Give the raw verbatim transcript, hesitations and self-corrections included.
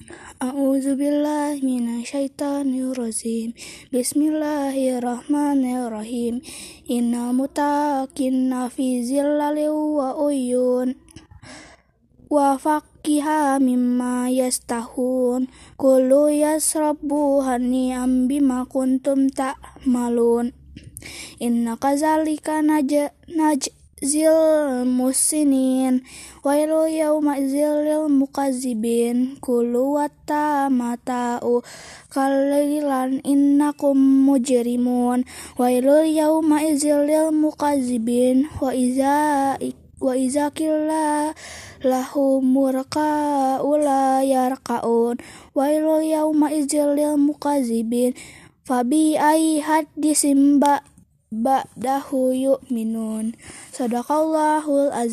A'udzubillahi minasyaitonirrajim. Bismillahirrahmanirrahim. Innal muttaqina fi zilalin wa uyun wa faqiha mimma yastahun. Kulu yasrabu hani'am bima kuntum ta'malun. Inna kadzalika naj najzil musinin wailu yawma idzil mukazzibin. Kulu wattamata'u qalilan innakum mujrimun. Wailu yawma idzil mukazzibin. Wa iza wa iza qila lahum murka'u la yarka'un. Wailu yawma idzil mukazzibin. Fabi ai hadisim ba ba'dahu yu'minun. Shadaqallahul azim.